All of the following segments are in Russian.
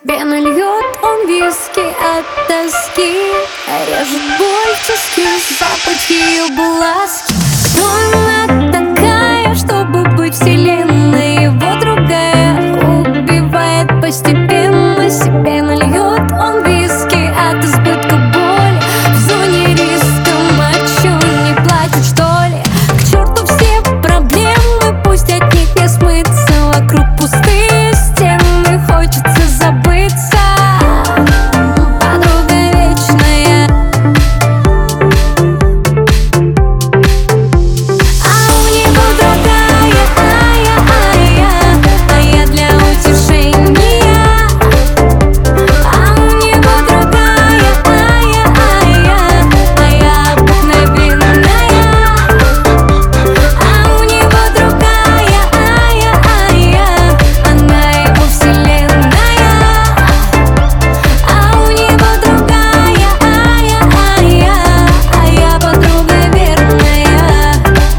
Себе нальет он виски от тоски, режет боль в тиски, запах ее ласки. Кто она такая, чтобы быть вселенной его другая? Убивает постепенно, себе нальет он виски от избытка боли. В зоне риска, а чё, не платит что ли? К черту все проблемы, пусть от них не смыться. Вокруг пустые стены, хочется забыться. Подруга вечная, а у него другая, а я для утешения. А у него другая, а я обыкновенная. А у него другая, она его вселенная. А у него другая, а я подруга верная.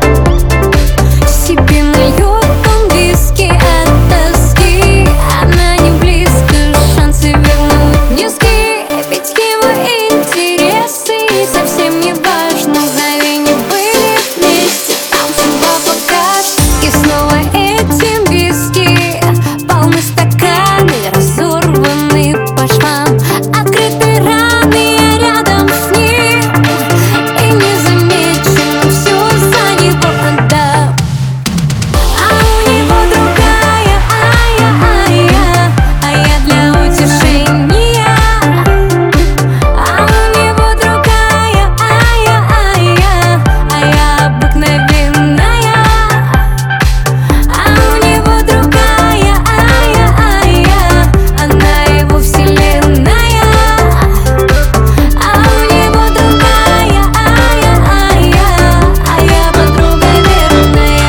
Себе нальет он виски от тоски, она не близко, шансы вернуть низкие. Ведь его интересы совсем не важно, мгновенье были вместе, там судьба покажет. И снова эти виски полны стаканы, разорваны по швам, открыты раны, я рядом с ним и не замечу, все за него отдам. А у него другая, а я для утешения. А у него другая, а я обыкновенная. А у него другая, она его вселенная. А у него другая, а я подруга верная.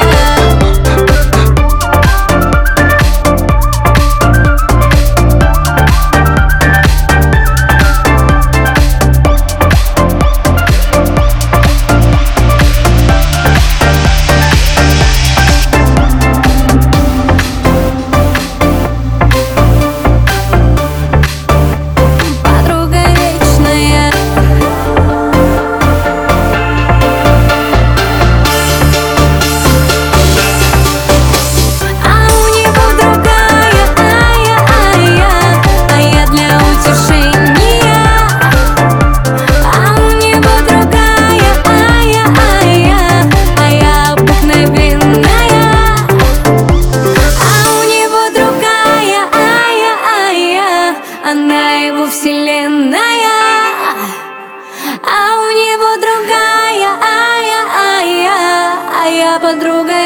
Подруга вечная. А у него другая, а я для утешения. А у него другая, а я обыкновенная. А у него другая, она его вселенная. А у него другая, а я подруга